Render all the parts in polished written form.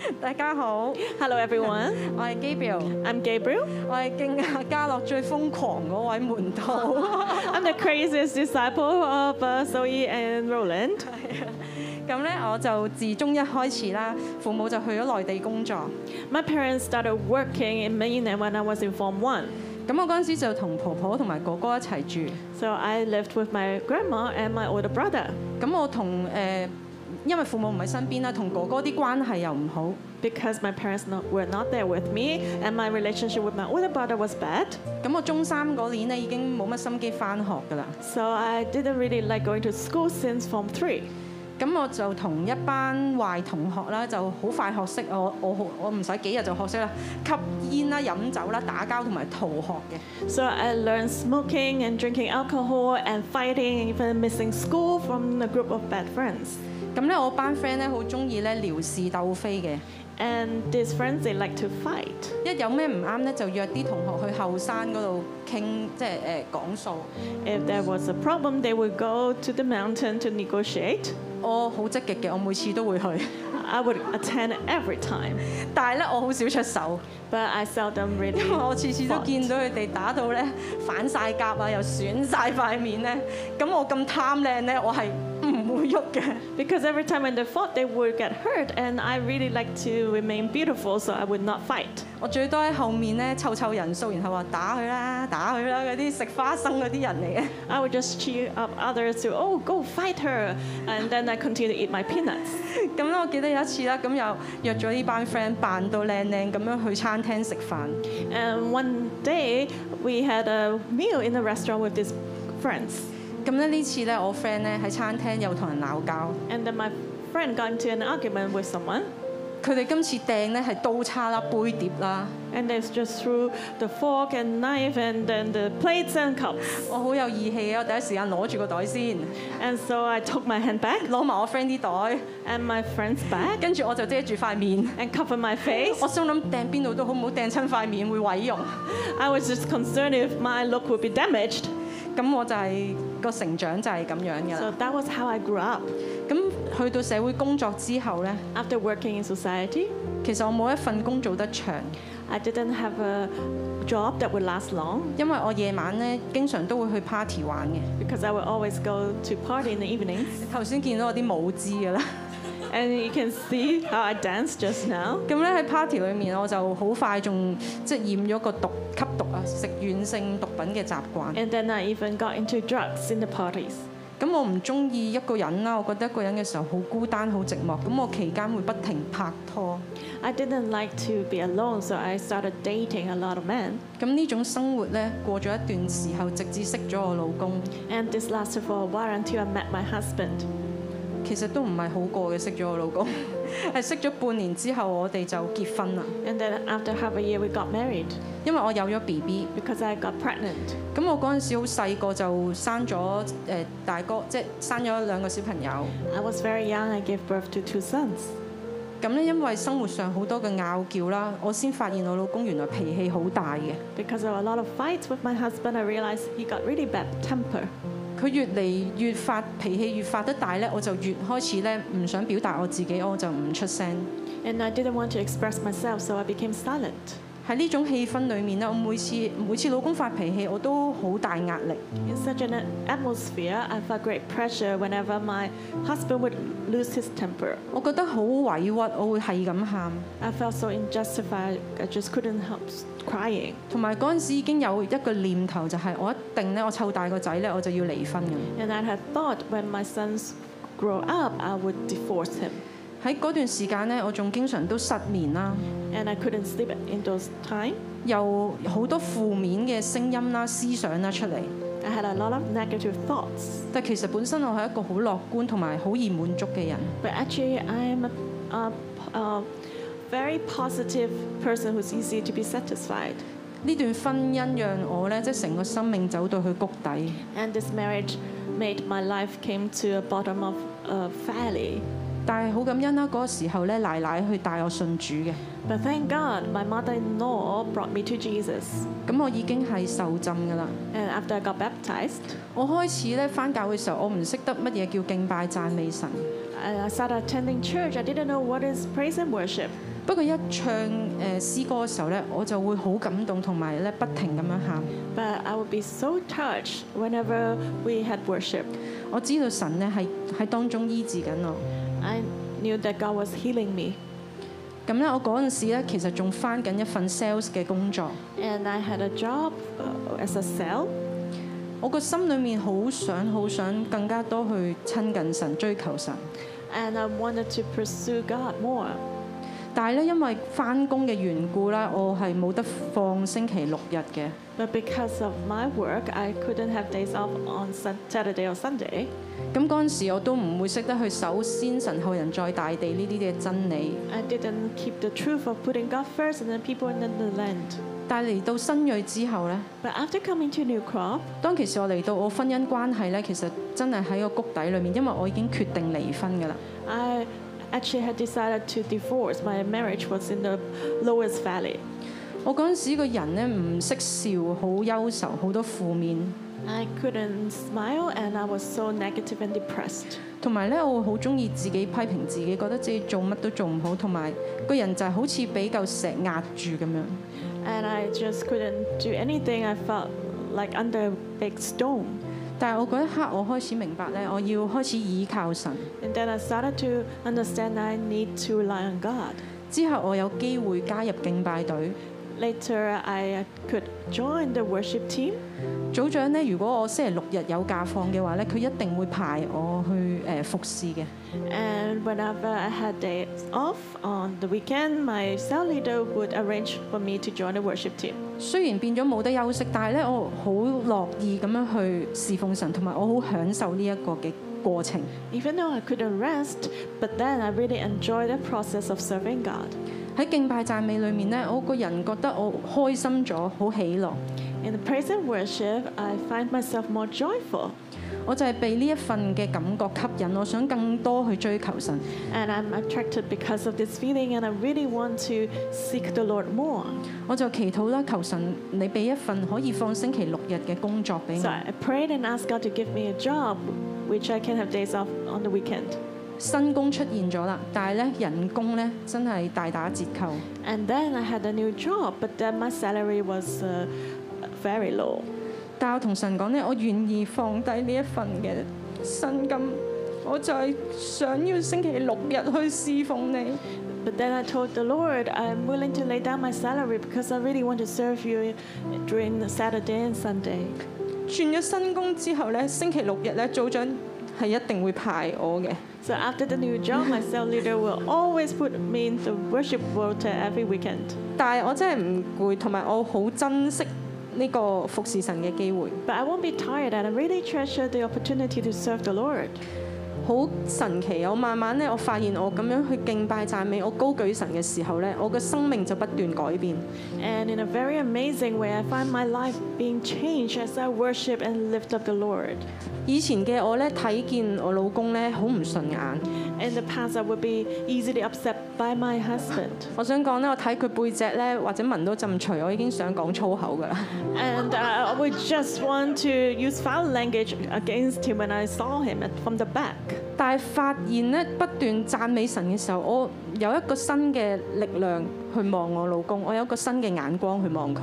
大家好， Hello everyone, 我係 Gabriel， I'm Gabriel. 我係敬亞嘉樂最瘋狂嗰位門徒。 I'm the craziest disciple of Zoe and Roland. 咁咧，我就自中一開始啦，父母就去咗內地工作。 My parents started working in Mainland when I was in Form 1. 咁我嗰陣時就同婆婆同埋哥哥一齊住。 So I lived with my grandma and my older brother. 咁我同因為父母唔喺身邊啦，同哥哥啲關係又唔好。 Because my parents were not there with me and my relationship with my older brother was bad. 咁我中三嗰年咧已經冇乜心機返學㗎啦。 So I didn't really like going to school since Form 3. 咁我就同一班壞同學啦，就好快學識我唔使幾日就學識啦，吸煙啦、飲酒啦、打交同埋逃學嘅。 So I learned smoking and drinking alcohol and fighting and even missing school from a group of bad friends. 咁咧，我班 friend 咧好中意咧撩是鬥非嘅。 And these friends, they like to fight. 一有咩唔啱咧，就約啲同學去後山嗰度傾，即係講數。 If there was a problem, they would go to the mountain to negotiate. 我好積極嘅，我每次都會去， I would attend every time, 但係咧我好少出手， but I seldom 因為 really 我次次都 fought. 見到佢哋打到咧反晒甲啊，又損晒塊面咧。咁我咁貪靚咧，我係唔會喐嘅。 Because every time when they fought, they would get hurt, and I really like to remain beautiful, so I would not fight. 我最多喺後面咧湊人數，然後話打佢啦，打佢啦，嗰啲食花生嗰啲人嚟嘅。 I would just cheer up others to, oh, go fight her, and then I continue to eat my peanuts. 咁咧，我記得有一次啦，咁又約咗呢班 friend 扮到靚靚咁樣去餐廳食飯。 And one day, we had a meal in a restaurant with these friends. 咁咧呢次咧，我 friend 咧喺餐廳又同人鬧交。 And then my friend got into an argument with someone. 佢哋今次掟咧係刀叉啦、杯碟啦。 And they just threw the fork and knife and then the plates and cups. 我好有義氣啊！我第一時間攞住個袋先， And so I took my hand back 攞埋我 friend 啲袋， and my friend's bag 跟住我就遮住塊面。 and covered my face. 我心諗掟邊度都好，唔好掟親塊面會毀容。 I was just concerned if my look would be damaged. 咁我就係個成長就係咁樣㗎 So 啦。 that was how I grew up. 咁去到社會工作之後咧， After working in society, 其實我冇一份工做得長， I didn't have a job that would last long 因為我夜晚咧經常都會去 party 玩嘅。 because I would always go to party in the evenings. 頭先見到我啲舞姿㗎啦。 And you can see how I danced just now. 咁咧喺 party 裏面，我就好快仲即係染咗個吸毒啊，食軟性毒品嘅習慣。 And then I even got into drugs in the parties. 咁我唔中意一個人啦，我覺得一個人嘅時候好孤單、好寂寞。咁我期間會不停拍拖。 I didn't like to be alone, so I started dating a lot of men. 咁呢種生活咧，過咗一段時候，直至識咗我老公， And this lasted for a while until I met my husband. 其實都唔係好過嘅。識咗我老公係識咗半年之後，我哋就結婚啦。 And then after half a year, we got married 因為我有咗 BB， because I got pregnant. 咁我嗰陣時好細個就生咗大哥，即係生咗2個小朋友。 I was very young. I gave birth to 2 sons. 咁咧，因為生活上好多嘅拗撬啦，我先發現我老公原來脾氣好大嘅。 Because of a lot of fights with my husband, I realized he got really bad temper. 佢越嚟越脾氣越發得大咧，我就越開始咧唔想表達我自己，我就唔出聲。 And I didn't want to express myself, so I became silent. 喺呢種氣氛裏面咧，我每次老公發脾氣，我都好大壓力。 In such an atmosphere, I felt great pressure whenever my husband would lose his temper. 我覺得好委屈，我會係咁喊。 I felt so unjustified, I just couldn't help crying. 同埋嗰陣時已經有一個念頭，就係我一定咧，我湊大個仔咧，我就要離婚嘅。 And I had thought when my sons grow up, I would divorce him. 喺嗰段時間咧，我仲經常都失眠啦， And I couldn't sleep in those times. 又好多負面嘅聲音啦、思想啦出嚟。 I had a lot of negative thoughts. 但其實本身我係一個好樂觀同埋好易滿足嘅人。 But actually, I'm a very positive person who's easy to be satisfied. 呢段婚姻讓我咧，即係成個生命走到去谷底。 And this marriage made my life came to a bottom of a valley. 但係好感恩啦，嗰個時候咧，奶奶去帶我信主嘅。 But thank God, my mother-in-law brought me to Jesus. 咁我已經係受浸㗎啦。 And after I got baptized, 我開始咧返教會嘅時候，我唔識得乜嘢叫敬拜讚美神。 I started attending church. I didn't know what is praise and worship. 不過一唱詩歌嘅時候咧，我就會好感動，同埋咧不停咁樣喊。 But I would be so touched whenever we had worship. 我知道神咧喺當中醫治緊我。 I knew that God was healing me. 咁咧，我嗰陣時咧其實仲返緊一份 sales 嘅工作。 And I had a job as a sales. 我個心裏面好想更加多去親近神、追求神。 And I wanted to pursue God more. 但係咧，因為返工嘅緣故啦，我係冇得放星期六日嘅。 But because of my work, I couldn't have days off on Saturday or Sunday. 咁嗰陣時我都唔會識得去守先神後人在大地呢啲嘅真理。 I didn't keep the truth of putting God first and then people in the land. 但係嚟到新锐之後咧， But after coming to New Crop, 當其時我嚟到我婚姻關係咧，其實真係喺個谷底裏面，因為我已經決定離婚㗎啦。 I actually had decided to divorce. My marriage was in the lowest valley. 我嗰陣時個人咧唔識笑，好憂愁，好多負面。 I couldn't smile and I was so negative and depressed. 同埋咧，我會好中意自己批評自己，覺得自己做乜都做唔好，同埋個人就係好似俾嚿石壓住咁樣。 And I just couldn't do anything. I felt like under a big stone. 但係我嗰一刻，我開始明白咧，我要開始倚靠神。 And then I started to understand I need to rely on God. 之後我有機會加入敬拜隊。 Later, I could join the worship team. 組長咧，如果我星期六日有假放嘅話咧，佢一定會排我去服侍嘅。 And whenever I had days off on the weekend, my cell leader would arrange for me to join the worship team. 雖然變咗冇得休息，但係咧我好樂意咁樣去侍奉神，同埋我好享受呢一個嘅過程。 Even though I couldn't rest, but then I really enjoyed the process of serving God. 喺敬拜讚美裏面咧，我個人覺得我開心咗，好喜樂。 In the praise and worship, I find myself more joyful. 我就係被呢一份嘅感覺吸引，我想更多去追求神。 And I'm attracted because of this feeling, and I really want to seek the Lord more. 我就祈禱啦，求神你俾一份可以放星期六日嘅工作俾 So 我。 I prayed and asked God to give me a job, which I can have days off on the weekend. 新工出現咗啦，但係咧人工咧真係大打折扣。 And then I had a new job, but then my salary was very low. 但係我同神講咧，我願意放低呢一份嘅薪金，我就係想要星期六日去侍奉你。 But then I told the Lord, I'm willing to lay down my salary because I really want to serve you during the Saturday and Sunday. 轉咗新工之後咧，星期六日咧組長係一定會排我嘅。 So after the new job, my cell leader will always put me in the worship rota every weekend. 但係我真係唔攰，同埋我好珍惜呢個服侍神嘅機會。 But I won't be tired, and I really treasure the opportunity to serve the Lord. 好神奇！我慢慢咧，我發現我咁樣去敬拜讚美，我高舉神嘅時候咧，我嘅生命就不斷改變。 And in a very amazing way, I find my life being changed as I worship and lift up the Lord. 以前嘅我咧，睇見我老公咧好唔順眼。 In the past, I would be easily upset by my husband. 我想講咧，我睇佢背脊咧，或者聞到陣除，我已經想講粗口㗎啦。 And I would just want to use foul language against him when I saw him from the back. 但係發現咧，不斷讚美神嘅時候，我有一個新嘅力量去望我老公，我有一個新嘅眼光去望佢。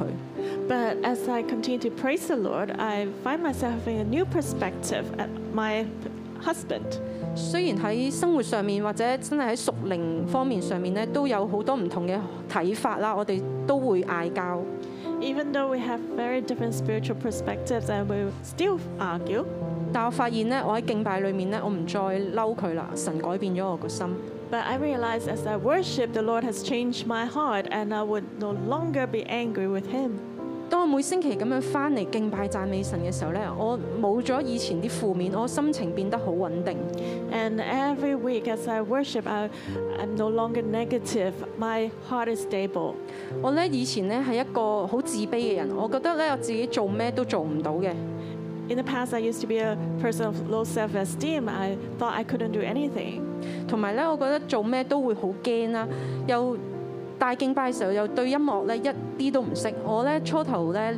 But as I continue to praise the Lord, I find myself having a new perspective at my husband. 雖然喺生活上面或者真係喺屬靈方面上面咧，都有好多唔同嘅睇法啦，我哋都會嗌交。 Even though we have very different spiritual perspectives, and we still argue. 但我發現咧，我喺敬拜裏面咧，我唔再嬲佢啦，神改變咗我個心。 But I realized as I worship, the Lord has changed my heart, and I would no longer be angry with Him. 當我每星期咁樣翻嚟敬拜讚美神嘅時候咧，我冇咗以前啲負面，我心情變得好穩定。 And every week as I worship, I'm no longer negative. My heart is stable. 我咧以前咧係一個好自卑嘅人，我覺得咧我自己做咩都做唔到嘅。 In the past, I used to be a person of low self-esteem. I thought I couldn't do anything. 同埋咧，我覺得做咩都會好驚啦，又大敬拜嘅時候又對音樂咧一啲都唔識。我咧初頭咧連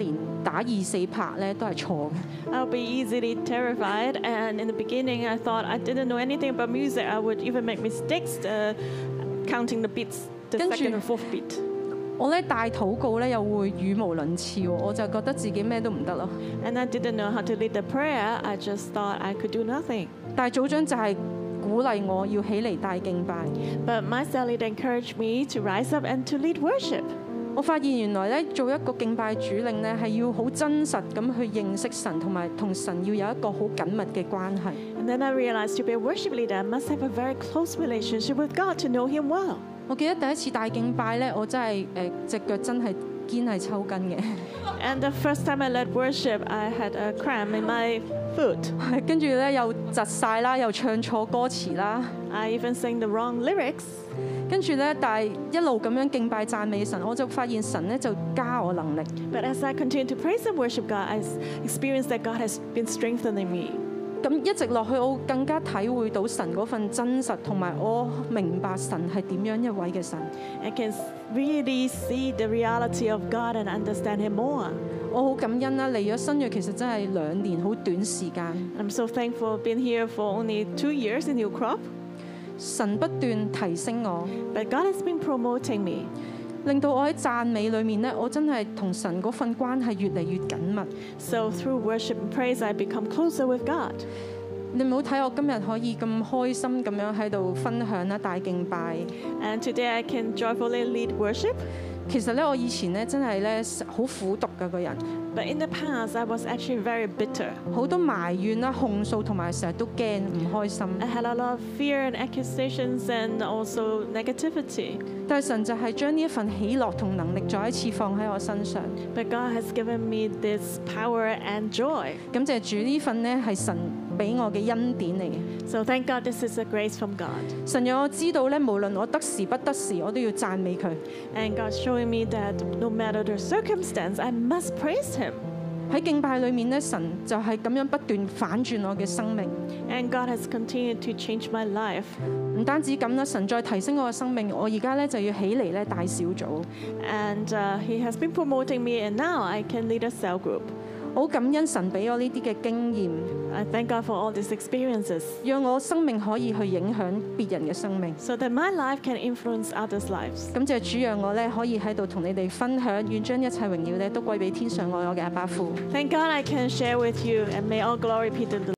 打2、4拍咧都係錯嘅。 I'll be easily terrified, and in the beginning I thought I didn't know anything about music. I would even make mistakes counting the beats, the 跟住 second and fourth beat. 我咧帶禱告咧又會語無倫次喎，我就覺得自己咩都唔得咯。 And I didn't know how to lead the prayer. I just thought I could do nothing. 但係組長就係鼓勵我要起嚟帶敬拜。 But my cell leader encouraged me to rise up and to lead worship. 我發現原來咧做一個敬拜主領咧係要好真實咁去認識神，同埋同神要有一個好緊密嘅關係。 And then I realized to be a worship leader, I must have a very close relationship with God to know Him well. 我記得第一次帶敬拜咧，我真係隻腳真係堅係抽筋嘅。 And the first time I led worship, I had a cramp in my foot. 跟住咧又窒晒啦，又唱錯歌詞啦。 I even sang the wrong lyrics. 跟住咧，但係一路咁樣敬拜讚美神，我就發現神咧就加我能力。 But as I continue to praise and worship God, I experienced that God has been strengthening me. 咁一直落去，我更加體會到神嗰份真實，同埋我明白神係點樣一位嘅神。 I can really see the reality of God and understand Him more. 我好感恩啦，嚟咗新約其實真係2年好短時間。 I'm so thankful being here for only 2 years in New Crop. 神不斷提升我， But God has been promoting me. 令到我喺讚美裏面咧，我真係同神嗰份關係越嚟越緊密。 So through worship and praise, I become closer with God. 你唔好睇我今日可以咁開心咁樣喺度分享啦，帶敬拜。 And today I can joyfully lead worship. 其實咧，我以前咧真係咧好苦毒嘅個人， But in the past, I was actually very bitter. 好多埋怨啦、控訴同埋成日都驚唔開心。 I had a lot of fear and accusations and also negativity. 但係神就係將呢一份喜樂同能力再一次放喺我身上。 But God has given me this power and joy. 感謝主，呢份呢係神俾我嘅恩典嚟嘅。 So thank God this is a grace from God. 神讓我知道咧，無論我得時不得時，我都要讚美佢。 And God's showing me that no matter the circumstance, I must praise Him. 喺敬拜裏面咧，神就係咁樣不斷反轉我嘅生命。 And God has continued to change my life. 唔單止咁啦，神再提升我嘅生命，我而家咧就要起嚟咧帶小組。 And He has been promoting me, and now I can lead a cell group. 好感恩神俾我呢啲嘅經驗， I thank God for all these experiences 讓我生命可以去影響別人嘅生命。 so that my life can influence others' lives. 感謝主，讓我咧可以喺度同你哋分享，願將一切榮耀咧都歸俾天上愛我嘅阿爸父。 Thank God I can share with you, and may all glory be to the